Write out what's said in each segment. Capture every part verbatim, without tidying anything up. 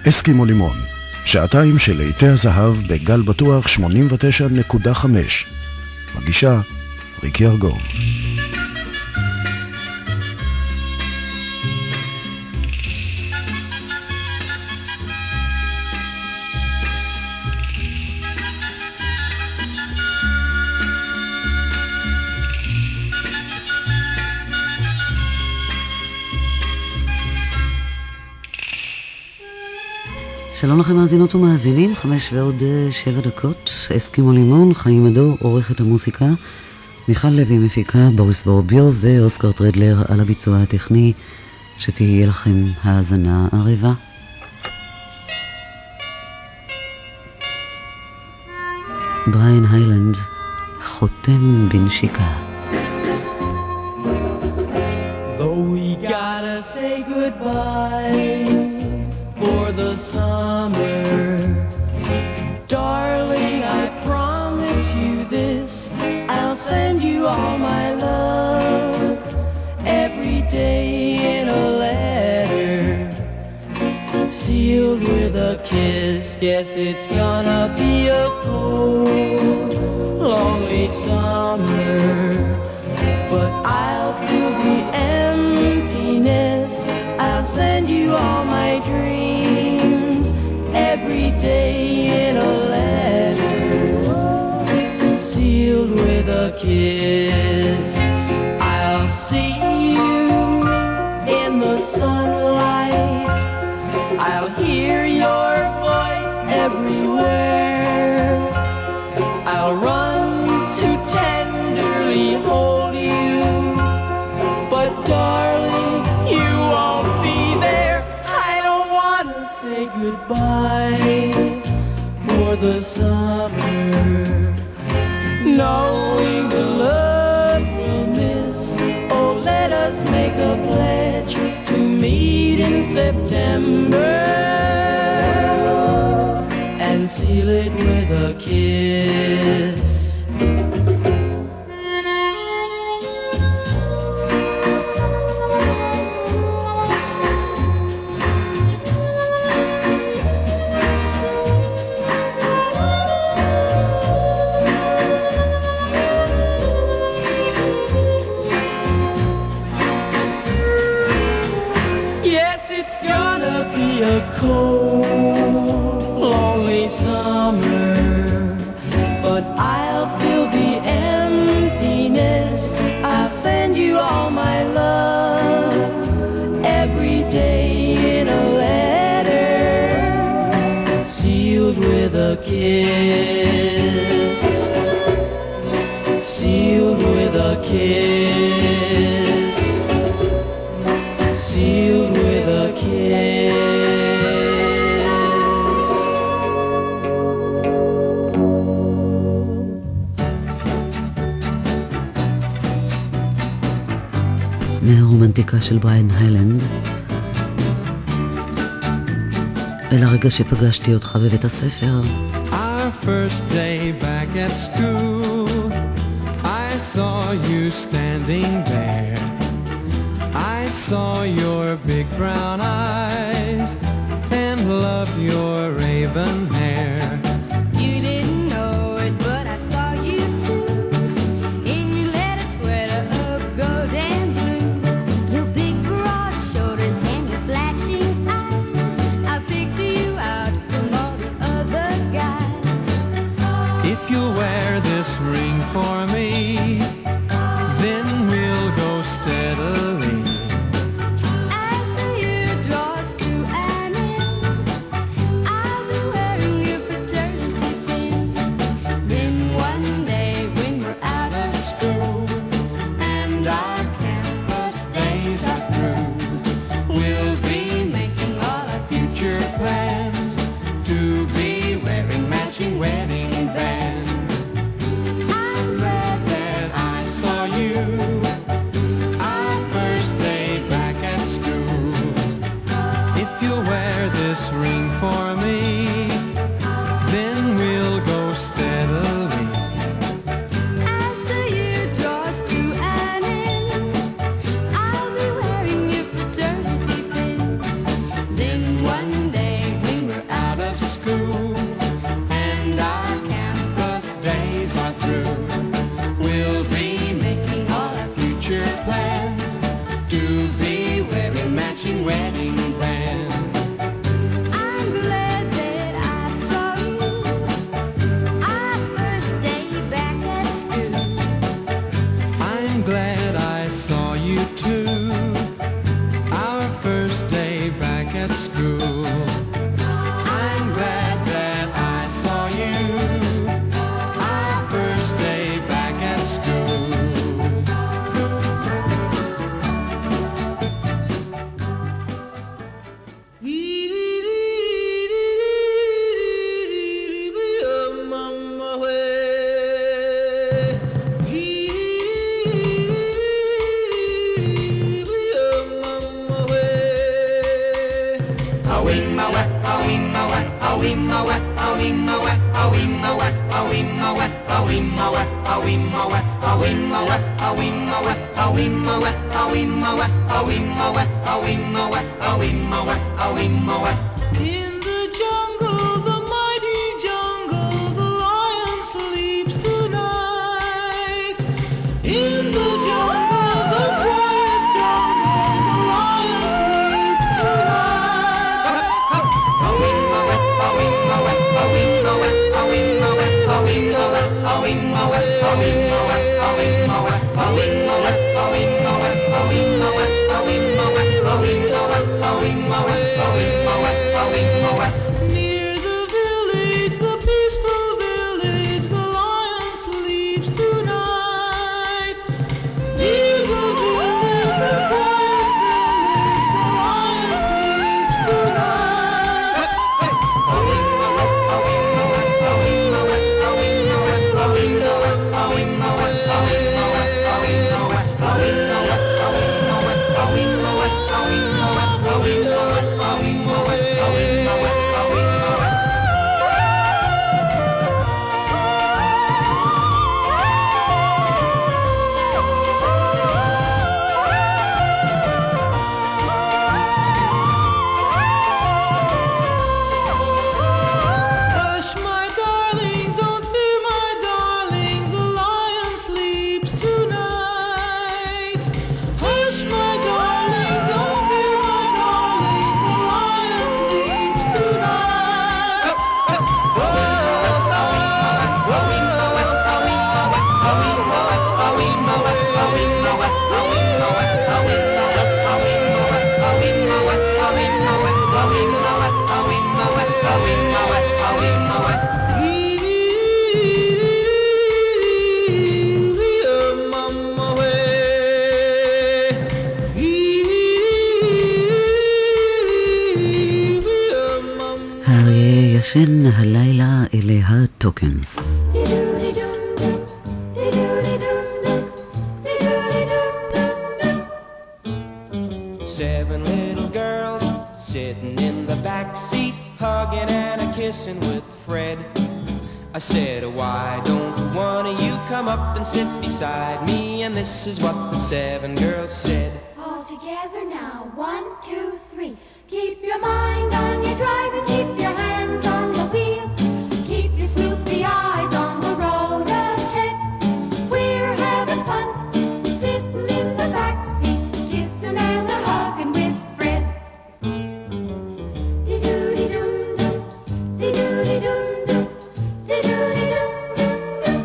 אסקימו לימון, שעתיים של להיטי הזהב בגל בטוח שמונים ותשע נקודה חמש. מגישה ריקי ארגוב. שלום לכם מאזינות ומאזינים, חמש ועוד שבע דקות, אסקימו לימון, חיים מדור, עורכת המוסיקה, מיכל לוי מפיקה, בוריס בורביו ואוסקר טרדלר על הביצוע הטכני, שתהיה לכם האזנה ערבה. בריין היילנד, חותם בנשיקה. Though we gotta say goodbye for the summer, darling, I promise you this, I'll send you all my love every day in a letter, sealed with a kiss. Guess it's gonna be a cold, lonely summer, but I'll feel the emptiness. I'll send you all my dreams every day in a letter, sealed with a kiss. I'll see you in the sunlight, I'll hear your voice everywhere, I'll run to tenderly hold you, but darling, you won't be there. I don't want to say goodbye for the summer, knowing the love we'll miss. Oh, let us make a pledge to meet in September and seal it with a kiss. A cold, lonely summer, but I'll fill the emptiness. I'll send you all my love every day in a letter, sealed with a kiss, sealed with a kiss, sealed with a kiss. מהרומנטיקה של בריין היילנד אל הרגע שפגשתי אותך בבית הספר. Our first day back at school, I saw you standing there. I saw your big brown eyes and loved your raven hair. You didn't know it, but I saw you too, in your leather sweater of gold and blue, your big broad shoulders and your flashing eyes. I picked you out from all the other guys. If you wear this ring for me, then we'll go steadily. As the year draws to an end, I'll be wearing your fraternity pin. Then one day when we're out of school and our campus days are through, We'll be making all our future plans to be wearing matching wedding bands. I'm glad that That I In the jungle, the mighty jungle, the lion sleeps tonight. In the jungle, the quiet jungle, the lion sleeps tonight. Near the village, the peaceful village, the lion sleeps tonight. Near the village, the quiet village, the lion sleeps tonight. Hush, my darling, don't fear, my darling, the lion sleeps tonight. Hush, my darling, don't fear, my darling, the lion sleeps tonight. האריה ישן הלילה אלה הטוקנס. Seven little girls sitting in the back seat, hugging and a kissing with Fred. I said, why don't one of you come up and sit beside me? And this is what the seven girls said. All together now, one, two, three. Keep your mind on your drive and keep your hands on the wheel. Keep your snoopy eyes on the road ahead. We're having fun, sitting in the backseat, kissing and a hugging with Fred. Dee-doo-dee-doo-doo, dee-doo-dee-doo-doo, dee-doo-dee-doo-doo-doo.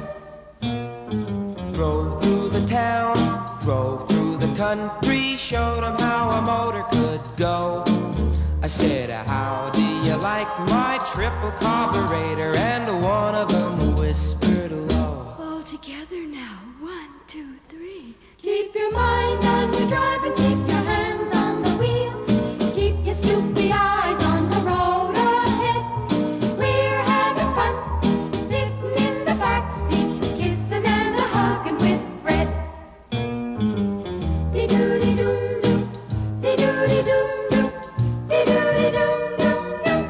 Drove through the town, drove through the country, showed them how a motor could go. I said, how do you like my triple carburetor? And one of them whispered low. All together now, one, two, three. Keep your mind on your drive and keep your hands on the wheel. Keep your snoopy eyes on the road ahead. We're having fun, sitting in the backseat, kissing and a hugging with Fred. Dee-doo-dee-doo-doo, dee-doo-dee-doo-doo, dee-doo-dee-doo-doo-doo.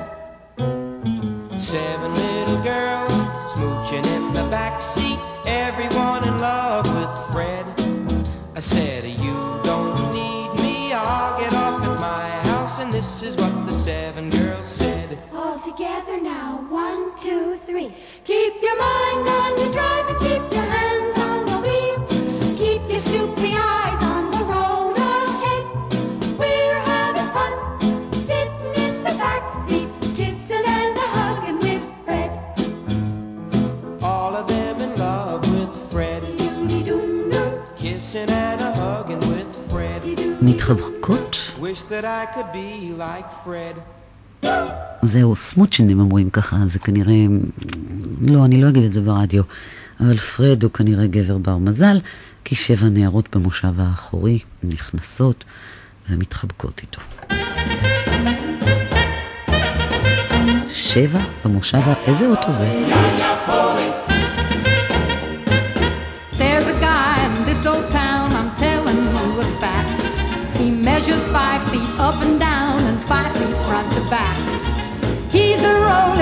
Seven little girls smooching in the back seat, everyone in love with Fred. I said, you don't need me, I'll get off at my house. And this is what the seven girls said. All together now, one, two, three. Keep your mind on your drive and keep your hands on the wheel. Keep your snoopy eyes on the road ahead. We're having fun, sitting in the backseat, kissing and a hugging with Fred. All of them in love with Fred, Dee-doo-dee-doo-doo, kissing and a hugging with Fred. מתחבקות? Wish that I could be like Fred. זהו, סמוצ'נים אומרים ככה, זה כנראה... לא, אני לא אגיד את זה ברדיו, אבל פרד הוא כנראה גבר בר מזל, כי שבע נערות במושב האחורי נכנסות ומתחבקות איתו. שבע במושב, איזה אוטו זה? There's a guy in this old town, I'm telling you a fact. He measures five feet up and down and five feet front to back. He's a rolling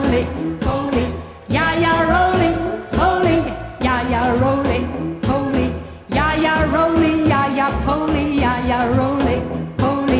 roly poly, yeah yeah roly poly, yeah yeah roly poly, yeah yeah roly, yeah yeah poly, yeah yeah roly poly.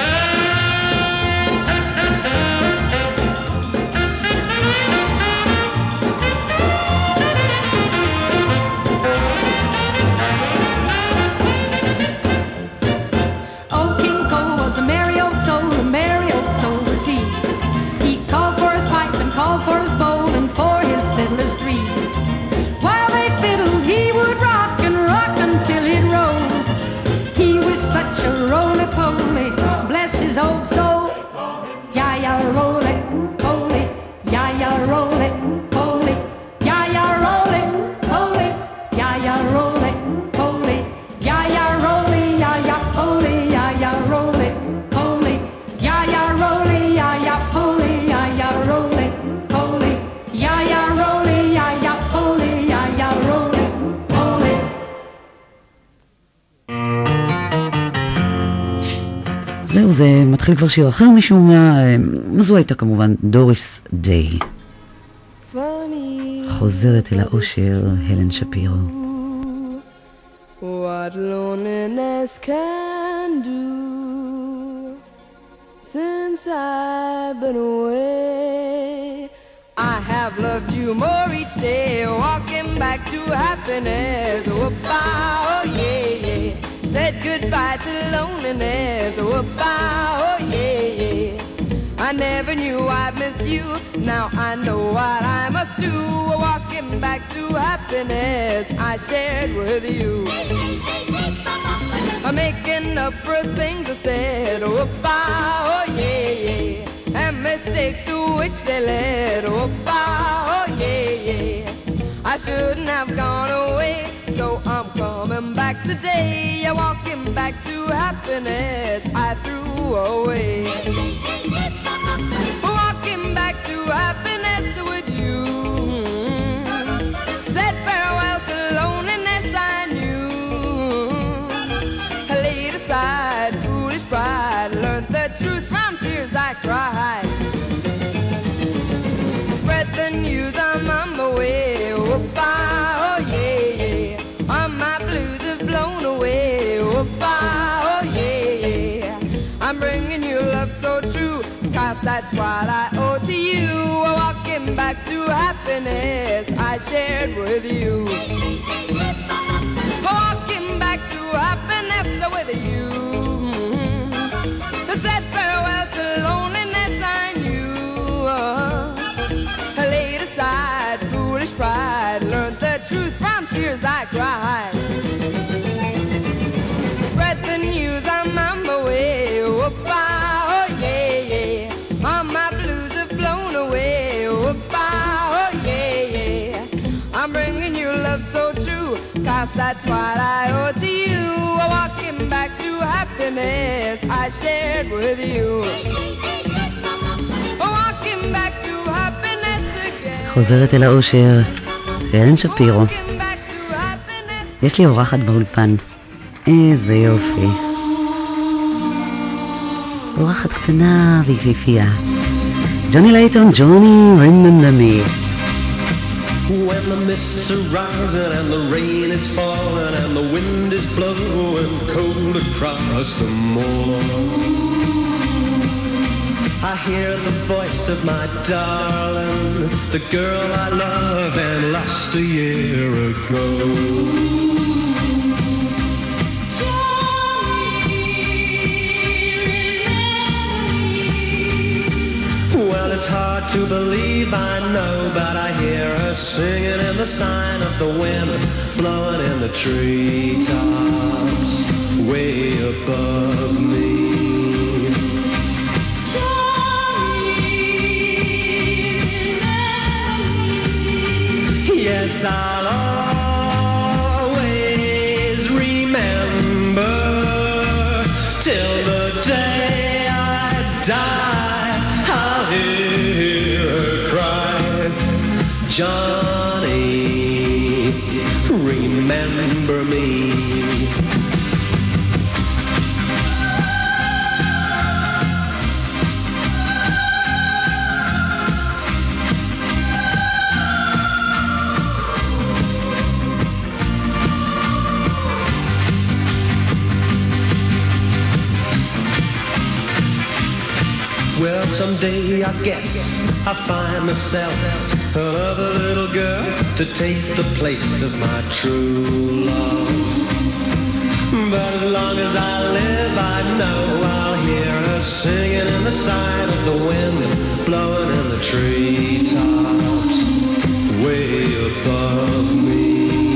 Old King Cole was a merry old soul, a merry old soul was he. He called for his pipe and called for his bowl and for his fiddlers three. While they fiddled, he would rock and rock until he'd roll. He was such a roly-poly, bless his old soul. Ya-ya roly-poly, ya-ya roly-poly, ya-ya roly-poly, ya-ya roly-poly, ya-ya roly, ya-ya poly, ya-ya roly-poly, ya-ya roly, ya-ya poly, ya-ya roly-poly, ya-ya roly, ya-ya poly, ya-ya roly-poly. זהו, זה מתחיל כבר שיר אחר משום מה, זו הייתה כמובן דוריס דיי. חוזרת אל האושר, הלן שפירו. What loneliness can do since I've been away. I have loved you more each day, walking back to happiness. Oh, oh yeah, yeah. Said goodbye to loneliness. Oh, oh yeah, yeah. I never knew I'd miss you. Now I know what I must do. Walking back to happiness I shared with you. I'm making up for things I said. Oh, oh yeah, yeah. And mistakes to which they led. Oh, oh yeah, yeah. I shouldn't have gone away, so I'm coming back today. Walking back to happiness I threw away. Walking back to happiness with you. Said farewell to loneliness I knew. I laid aside foolish pride, learned the truth from tears I cried. Spread the news, I'm on my way. Oh, oh yeah, yeah. All my blues have blown away. Oh, oh yeah, yeah. I'm bringing you love so true, cause that's what I owe to you. Walking back to happiness I shared with you. Walking back to happiness with you. I said farewell to loneliness I knew. I laid aside foolish pride, learned the truth from tears I cried. Spread the news, I'm on my way. Oh, oh yeah, yeah. All my blues have blown away. Oh, oh yeah, yeah. I'm bringing you love so true, cause that's what I owe to you. Walking back to happiness I shared with you. Walking back to happiness again. חוזרת אל האושר, הלן שפירו. Walking back to happiness. יש לי אורחת באולפן. איזה יופי. אורחת קטנה ויפיפייה. ג'וני לייטון, ג'וני, remember me. When the mists are rising and the rain is falling and the wind is blowing cold across the moor, I hear the voice of my darling, the girl I love and lost a year ago. Well, it's hard to believe, I know, but I hear her singing in the sign of the wind, blowing in the treetops way above me. Yes, I'll always remember till the day I die. I'll hear her cry, Johnny, remember me. someday I guess I'll find myself another little girl to take the place of my true love. But as long as I live, I know I'll hear her singing in the side of the wind, blowing in the treetops way above me.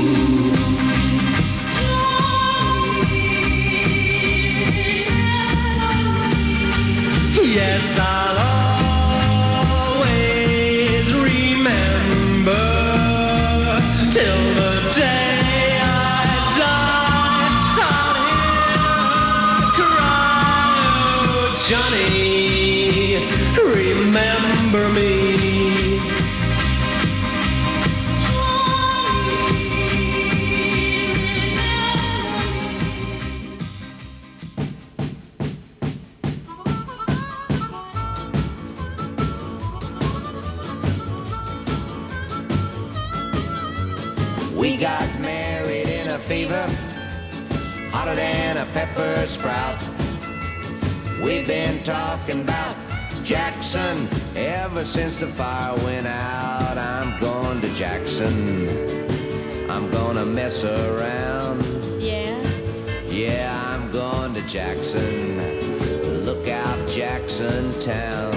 Yes, I'll always remember till the day I die. I'll hear her cry, oh, Johnny, remember me. We got married in a fever, hotter than a pepper sprout. We've been talking about Jackson ever since the fire went out. I'm going to Jackson, I'm gonna mess around. Yeah. Yeah, I'm going to Jackson, look out Jackson Town.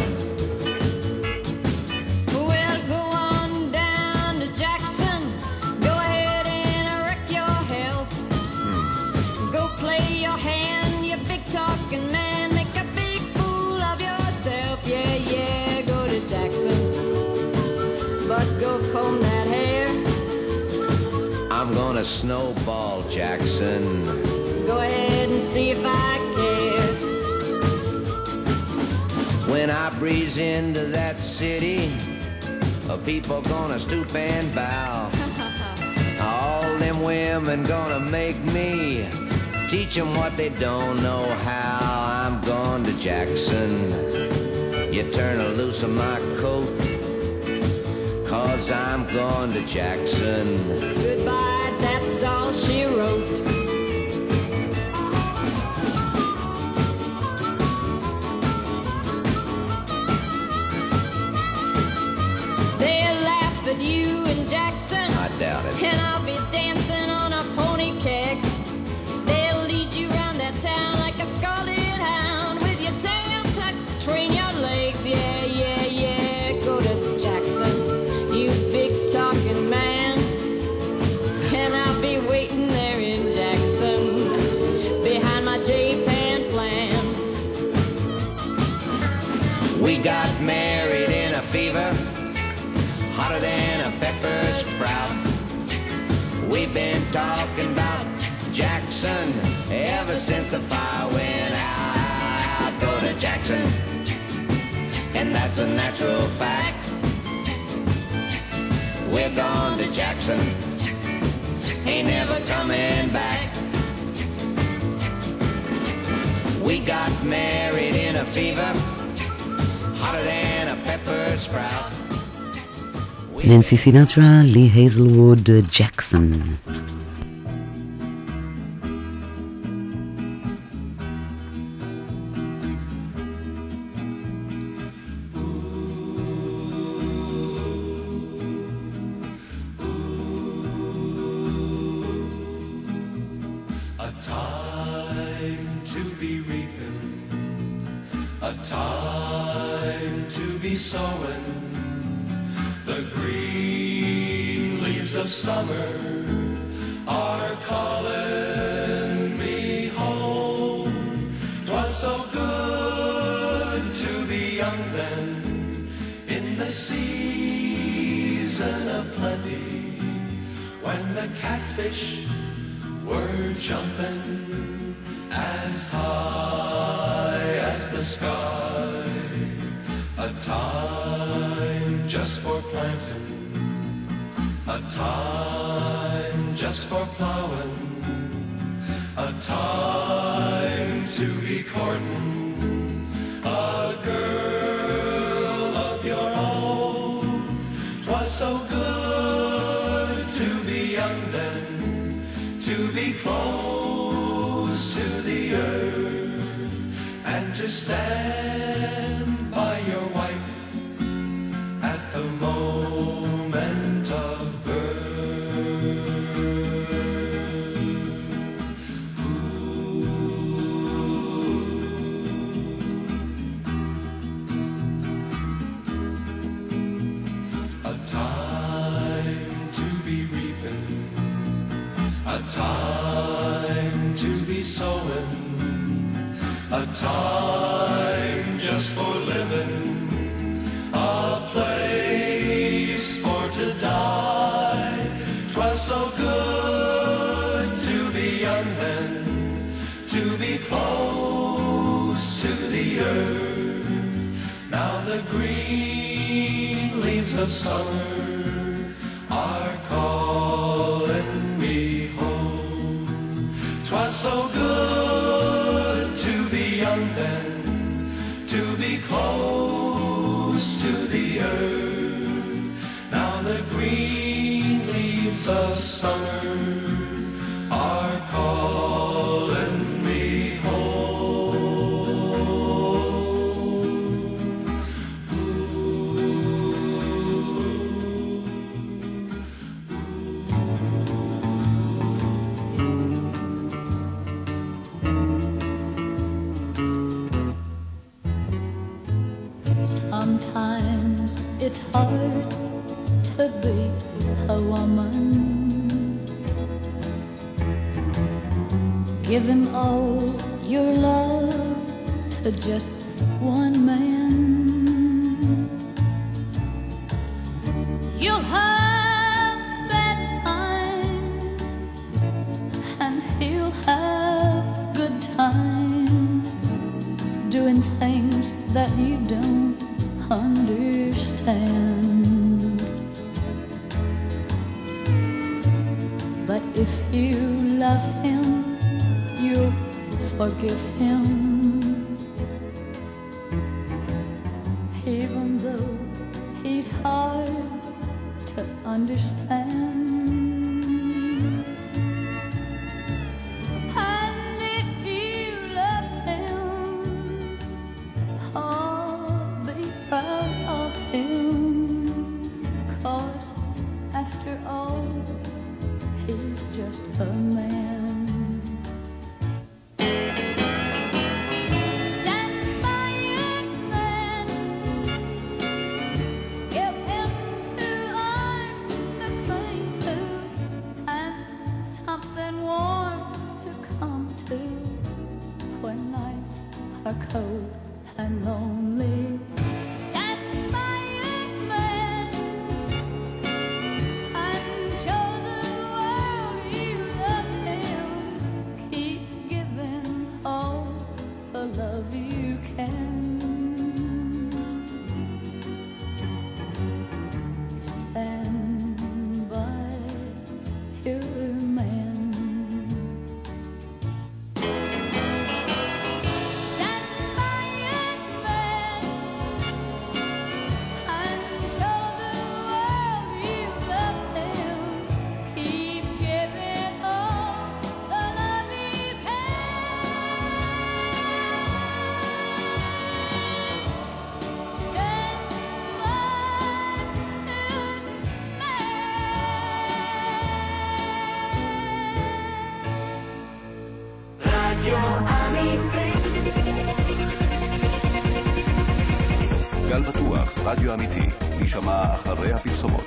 Well, go on down to Jackson. Go ahead and wreck your health. Go play your hand, you big talking man. Make a big fool of yourself. Yeah, yeah, go to Jackson. But go comb that hair. I'm gonna snowball Jackson. Go ahead and see if I care. When I breeze into that city, uh, people gonna stoop and bow. All them women gonna make me teach them what they don't know how. I'm going to Jackson. You turn loose of my coat, cause I'm going to Jackson. Goodbye, that's all she wrote. They'll laugh at you in Jackson, I doubt it. and I'll be dancing on a pony keg. They'll lead you round that town like a scalded hound, with your tail tucked between your legs. Yeah, yeah, yeah, go to Jackson, you big talking man. And I'll be waiting there in Jackson, behind my J-Pan plan. We got married in a fever, hotter than a pepper sprout. We've been talking about Jackson ever since the fire went out. Go to Jackson, and that's a natural fact. We're gone to Jackson, ain't never coming back. We got married in a fever, hotter than a pepper sprout. ננסי סינטרה, לי הייזלווד, ג'קסון. A time to be reaping, a time to be sowing. The green leaves of summer are calling me home. 'Twas so good to be young then, in the season of plenty, when the catfish were jumping as high as the sky. A time just for planting, a time just for plowing, a time to be courting a girl of your own. 'Twas so good to be young then, to be close to the earth, and to stand by your time to be sowing, a time just for living, a place for to die. 'Twas so good to be young then, to be close to the earth. Now the green leaves of summer are calling me home. 'Twas so good to be young then, to be close to the earth. Now the green leaves of summer are calling me Sometimes it's hard to be a woman, giving all your love to just one man. You'll have bad times and he'll have good times, doing things that you don't understand. But if you love him, you'll forgive him, even though he's hard to understand. And if you love him, oh, be proud of him, 'cause after all, he's just a man. Stand by your man, give him two arms to cling to, and something warm to come to when nights are cold and lonely. Stand by your man and show the world you love him. Keep giving all the love you can. Stand by your man. Stand by your man and show the world you love him. Keep giving all the love you can. Stand by your man. גל בטוח, רדיו אמיתי, להישמע אחרי הפרסומות.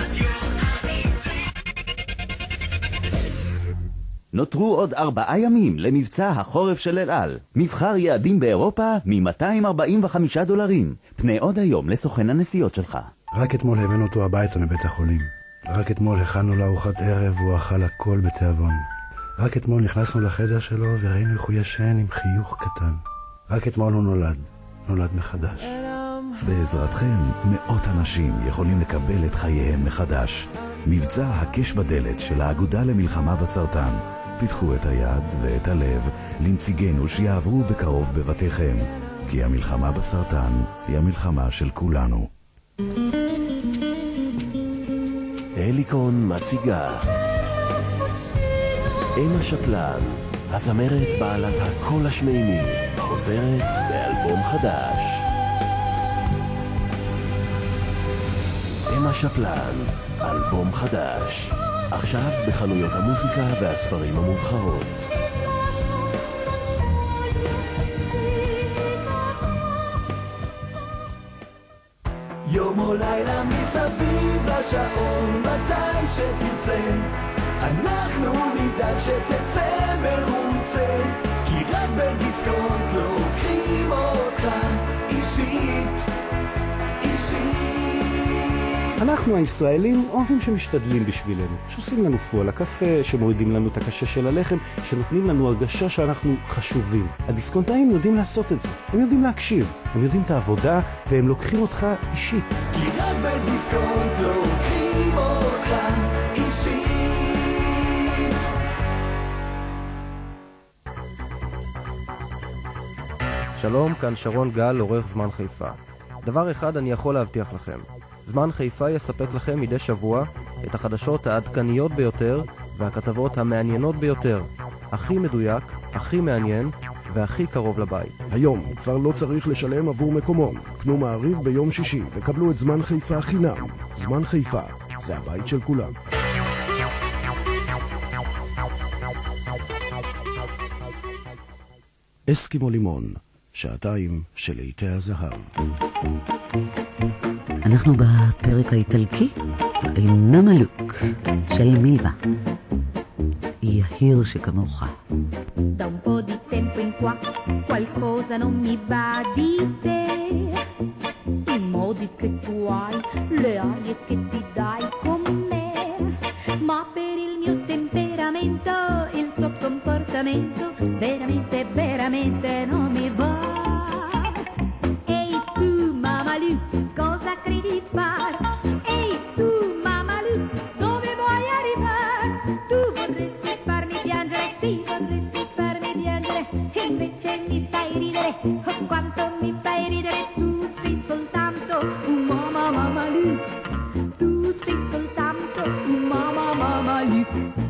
נותרו עוד ארבעה ימים למבצע החורף של אל על. מבחר יעדים באירופה מ-מאתיים ארבעים וחמישה דולרים. פנה עוד היום לסוכן הנסיעות שלך. רק אתמול הבאנו אותו הביתה מבית החולים. רק אתמול הכנו לארוחת ערב והוא אכל הכל בתיאבון. רק אתמול נכנסנו לחדר שלו וראינו איך הוא ישן עם חיוך קטן. רק אתמול הוא נולד, נולד מחדש. בעזרתכם, מאות אנשים יכולים לקבל את חייהם מחדש. מבצע הקש בדלת של האגודה למלחמה בסרטן. פיתחו את היד ואת הלב לנציגינו שיעברו בקרוב בבתיכם. כי המלחמה בסרטן היא המלחמה של כולנו. אליקון מציגה אמא שטלן, הזמרת בעלת הקול השמימי, חוזרת באלבום חדש. אמא שטלן, אלבום חדש, עכשיו בחנויות המוזיקה והספרים המובחרות. יום או לילה מסביב לשעון, מתי שתרצה אנחנו נדאג שתצא מרוצה, כי רק בדיסקונט לוקחים אותך אישית, אישית. אנחנו הישראלים אוהבים שמשתדלים בשבילנו, שעושים לנו פו על הקפה, שמורידים לנו את הקשה של הלחם, שנותנים לנו הרגשה שאנחנו חשובים. הדיסקונטאים יודעים לעשות את זה, הם יודעים להקשיב, הם יודעים את העבודה והם לוקחים אותך אישית. כי רק בדיסקונט לוקחים אותך אישית. שלום, כאן שרון גל, עורך זמן חיפה. דבר אחד אני יכול להבטיח לכם, זמן חיפה יספק לכם מדי שבוע את החדשות העדכניות ביותר והכתבות המעניינות ביותר, הכי מדויק, הכי מעניין והכי קרוב לבית. היום כבר לא צריך לשלם עבור מקומון. קנו מעריב ביום שישי וקבלו את זמן חיפה חינם. זמן חיפה, זה הבית של כולם. אסקימו לימון, שעתיים של לעיתי הזהב. אנחנו בפרק האיטלקי, אינה מלוק, של מילבה. יהיר שכמוך. Da un po' di tempo in qua qualcosa non mi va di te, i modi che tu hai, le arie che ti dai con me, ma per il mio temperamento, il tuo comportamento veramente, veramente non mi va. Ehi tu Mamalu, cosa credi di far? Ehi tu Mamalu, dove vuoi arrivare? Tu vorresti farmi piangere, sì, vorresti farmi piangere, invece mi fai ridere, oh quanto mi fai ridere. Tu sei soltanto un mamma Mamalu, tu sei soltanto un mamma Mamalu.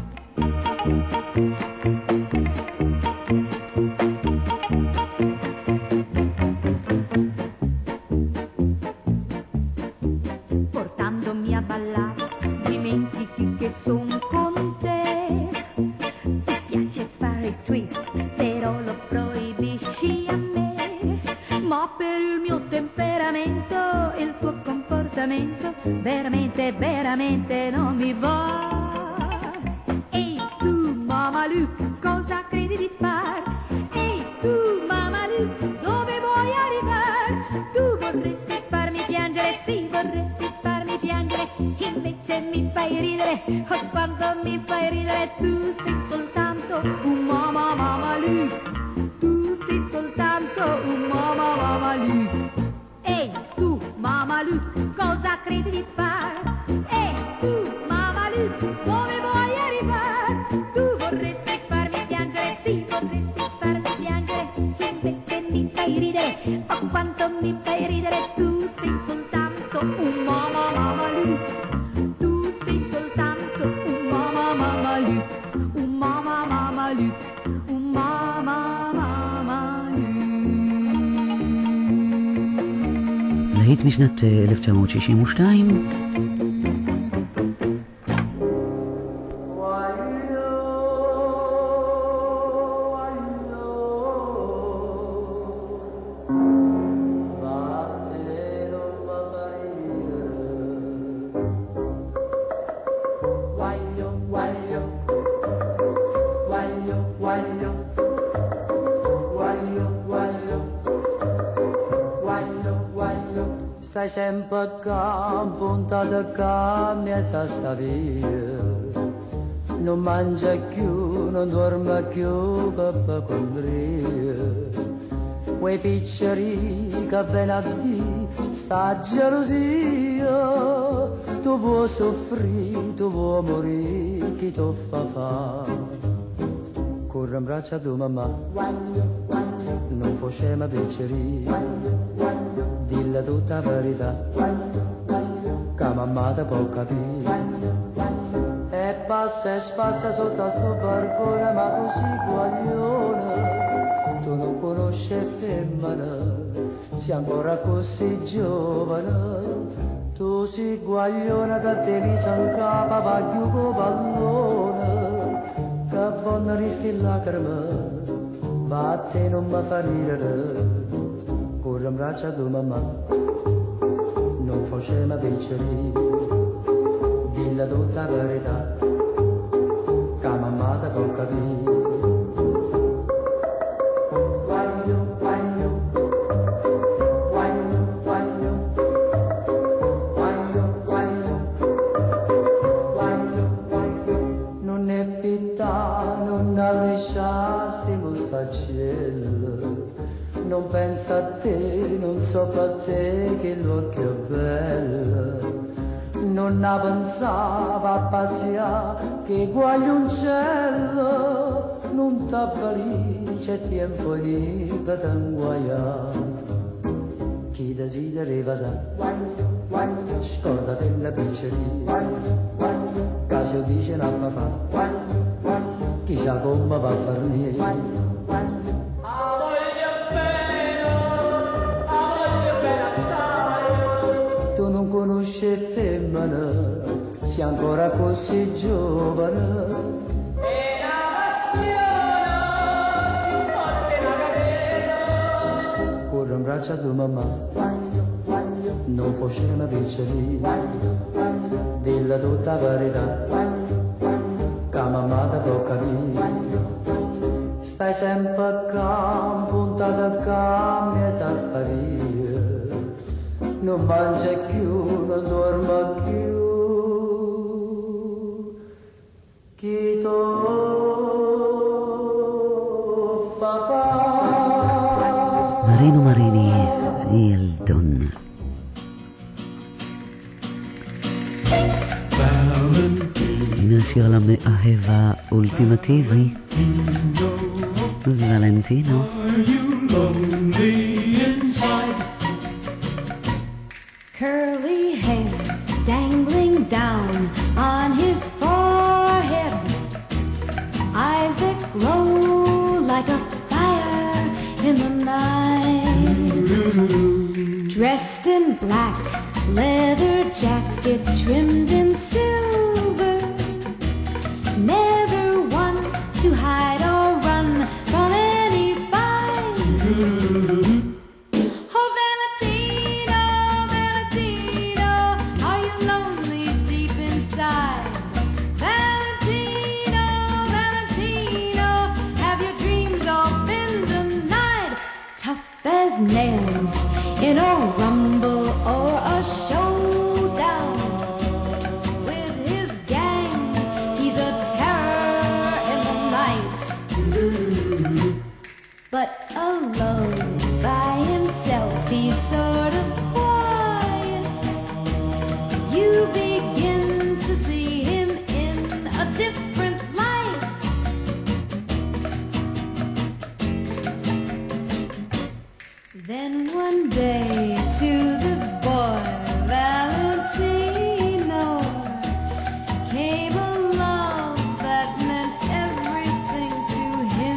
Portandomi a ballare, dimentichi che son con te. Ti piace fare il twist, però lo proibisci a me. Ma per il mio temperamento, il tuo comportamento veramente, veramente non mi va. Ehi tu Mamalu, cosa credi di far? Ehi tu Mamalu, dove vuoi arrivare? Tu vorresti farmi piangere, sì, vorresti farmi piangere, invece mi fai ridere, oh quanto mi fai ridere. Tu sei soltanto un mamma Mamalu, tu sei soltanto un mamma Mamalu. Ehi tu Mamalu, cosa credi di far? Ehi tu Mamalu, dove vuoi arrivare? Tu vorresti farmi piangere, sì, vorresti farmi piangere, invece mi fai ridere, oh quanto mi fai ridere. Tu sei soltanto un mamma Mamalu, tu sei soltanto un mamma Mamalu, un mamma Mamalu, un mamma Mamalu. להיט משנת אלף תשע מאות שישים ושתיים. Stai sempre qua, puntata qua, mezza sta via. Non mangia più, non dorme più, papà condria. Quei picceri che viene a dire, sta gelosia. Tu vuoi soffrire, tu vuoi morire, chi ti fa fare? Corre in braccia a tua mamma, non facciamo picceri. Dilla tutta la verità, che mamma te può capire. E passa e spassa sotto a sto balcone, ma tu sei guaglione, tu non conosci femmina, sei ancora così giovane. Tu sei guaglione che te mi san capa, va più con pallone, che vanno risti lacrime, ma a te non mi fa ridere. Corre in braccia a tua mamma, non facciamo picceri, dilla tutta la verità, può capire. Guagno, guagno, guagno, guagno, guagno, guagno, guagno, guagno. Non è pietà, non lasciasti mostaccello. Non pensa a te, non so per te che l'occhio è bello. Non ne pensava a pazzia che guaglioncello. Non t'avvalì, c'è tempo di patanguaiare. Chi desidereva sa, guagno, guagno, scordate la pizzeria. Guagno, guagno, caso dice la papà. Guagno, guagno, chissà come va a farne. Guagno, conosce femmina, sei ancora così giovane. E la passione più forte la catena. Corre in braccio a tua mamma, guagno, guagno, non fosse una piccerina, guagno, guagno, dilla tutta la verità, guagno, guagno, che mamma ti può capire, guagno, guagno. Stai sempre qua, puntata qua, mezza sta via. Non mangia più, non dorma più. Chi to fa fa? Marino Marini, il Don. הנה השיר למאהב האולטימטיבי, ולנטינו. Curly hair dangling down on his forehead, eyes that glow like a fire in the night. Dressed in black, leather jacket trimmed in silver, never one to hide or run from any fight. Nails in a rumble or a showdown with his gang, he's a terror in the night. But alone by himself he's sort of quiet. You begin to see him in a different light. Then one day to this boy, Valentino, came a love that meant everything to him.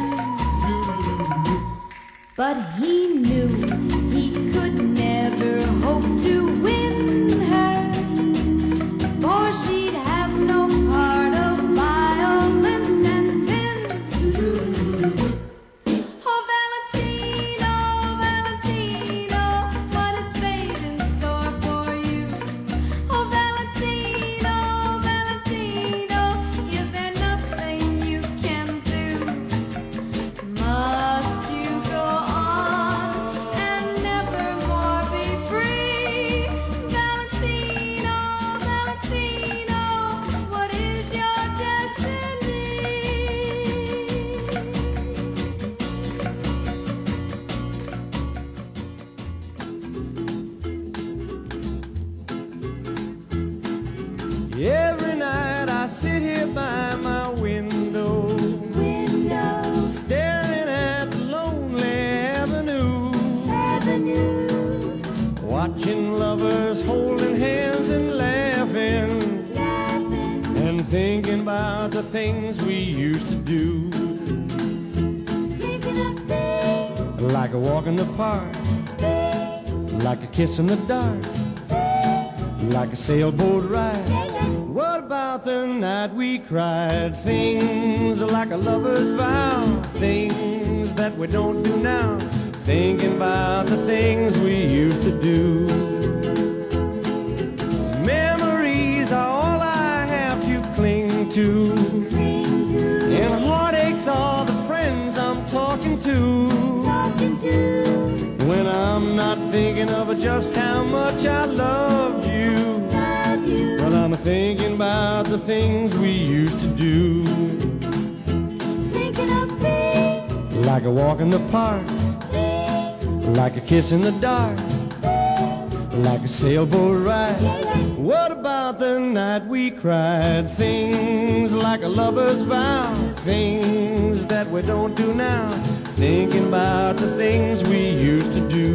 But he knew he could never hope to win her, for she'd have no part of violence and sin. Oh, Valentino, Valentino, what is fate in store for you? Oh, Valentino, Valentino, is there nothing you can do? Must you go on and never more be free? Valentino, Valentino, what is your destiny? Every night I sit here by my window, window, staring at the lonely avenue, avenue, watching lovers holding hands and laughing, laughing, and thinking about the things we used to do, thinking of things like a walk in the park, things like a kiss in the dark, things like a sailboat ride. What about the night we cried? Things like a lover's vow, things that we don't do now. Thinking about the things we used to do. Memories are all I have to cling to, cling to. And thinking of just how much I loved you. But I'm thinking about the things we used to do. Thinking of things, Like a walk in the park, like a kiss in the dark, like a sailboat ride. What about the night we cried? Things like a lover's vow, things that we don't do now. Thinking about the things we used to do.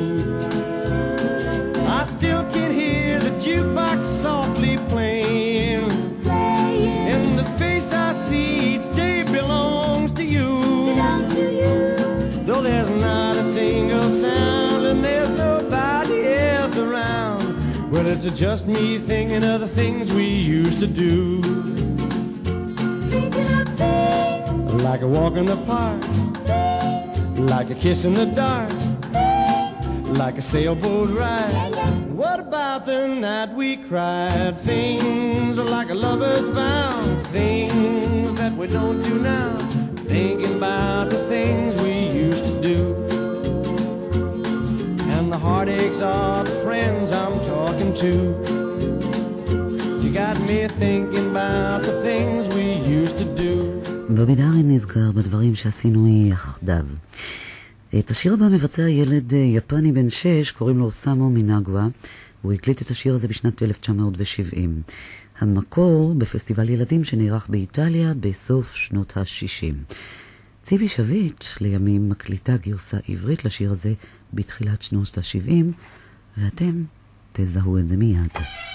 I still can hear the jukebox softly playing, and the face I see each day belongs to you. Though there's not a single sound and there's nobody else around, well, it's just me thinking of the things we used to do. thinking of things, Like a walk in the park, like a kiss in the dark, like a sailboat ride. What about the night we cried? Things like a lover's vow, things that we don't do now. Thinking about the things we used to do, and the heartaches are the friends I'm talking to. You got me thinking about the things we used to do. בובי דארן נזכר בדברים שעשינו יחדיו. את השיר הבא מבצע ילד יפני בן שש, קוראים לו סאמו מינגווה. הוא הקליט את השיר הזה בשנת אלף תשע מאות שבעים. המקור בפסטיבל ילדים שנערך באיטליה בסוף שנות ה-שישים. ציבי שביט לימים מקליטה גרסה עברית לשיר הזה בתחילת שנות ה-שבעים, ואתם תזהו את זה מיד.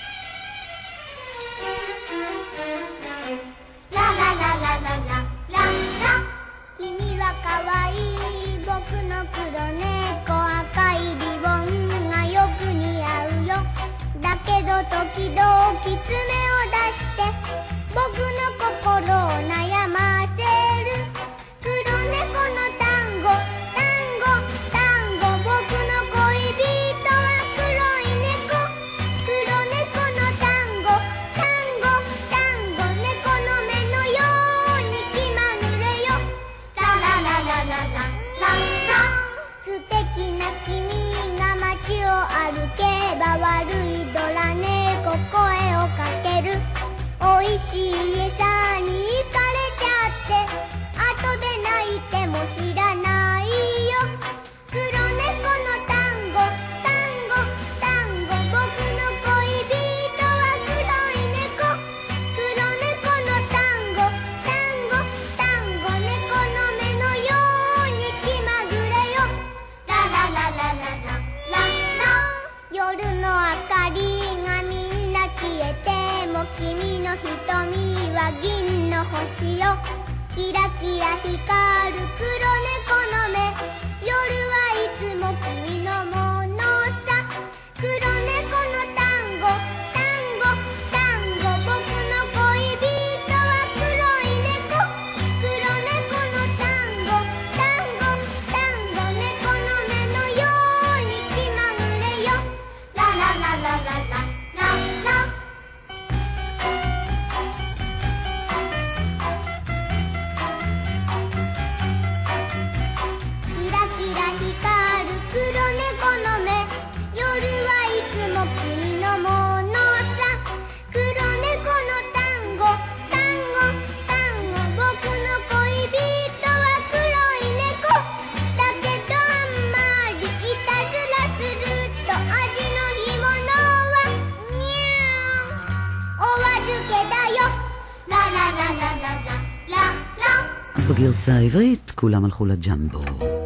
אז בגרסה העברית כולם הלכו לג'מבו.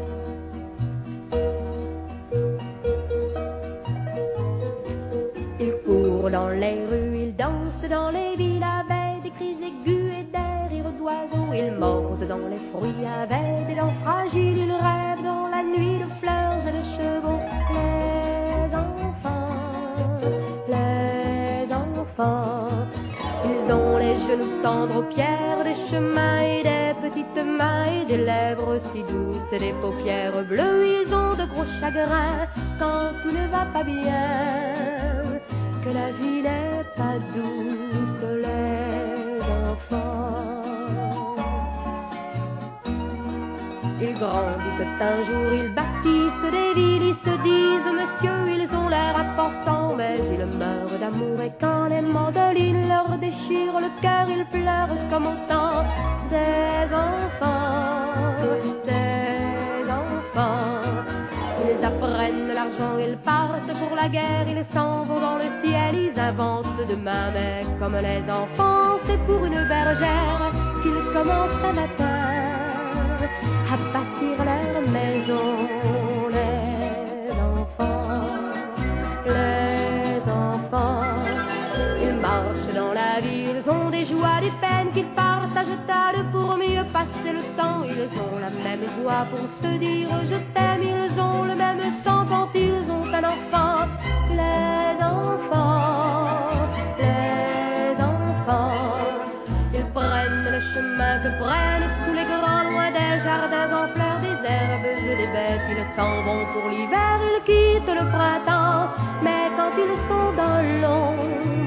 Il court dans les rues, il danse dans les villes avec des cris aigus et des rires d'oiseaux. Il monte dans les fruits avec des dents fragiles, il rêve dans la nuit de fleurs et de chevaux. Les enfants, les enfants, ils ont les genoux tendres aux pierres, des chemins et des petites mains et des lèvres si douces et des paupières bleues. Ils ont de gros chagrins quand tout ne va pas bien, que la vie n'est pas douce, les enfants. Ils grandissent un jour, ils bâtissent des villes, ils se disent monsieur important, mais ils meurent d'amour et quand les mandolines leur déchirent le cœur, ils pleurent comme autant des enfants, des enfants. Ils apprennent l'argent, ils partent pour la guerre, ils s'en vont dans le ciel, ils inventent demain, mais comme les enfants, c'est pour une bergère qu'ils commencent un matin à bâtir leur maison. Les enfants, les enfants, ils marchent dans la vie, ils ont des joies, des peines qu'ils partagent à deux pour mieux passer le temps. Ils ont la même joie pour se dire je t'aime, ils ont le même sang quand ils ont un enfant. Les enfants, les enfants, ils prennent le chemin que prennent tous les grands, loin des jardins en fleurs, des herbes et des bêtes. Ils s'en vont pour l'hiver, ils quittent le printemps, mais quand ils sont dans l'ombre,